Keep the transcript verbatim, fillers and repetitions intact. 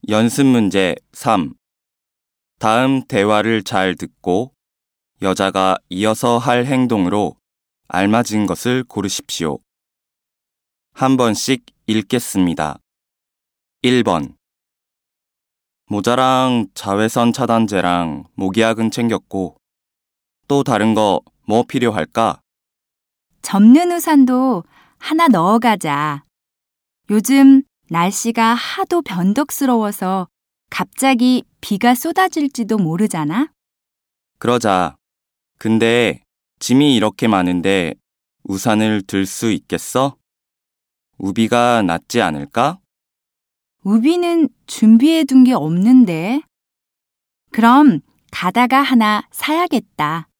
연습 문제 삼. 다음 대화를 잘 듣고 여자가 이어서 할 행동으로 알맞은 것을 고르십시오. 한 번씩 읽겠습니다. 일 번. 모자랑 자외선 차단제랑 모기약은 챙겼고 또 다른 거 뭐 필요할까? 접는 우산도 하나 넣어가자. 요즘 날씨가 하도 변덕스러워서 갑자기 비가 쏟아질지도 모르잖아? 그러자. 근데 짐이 이렇게 많은데 우산을 들 수 있겠어? 우비가 낫지 않을까? 우비는 준비해둔 게 없는데. 그럼 가다가 하나 사야겠다.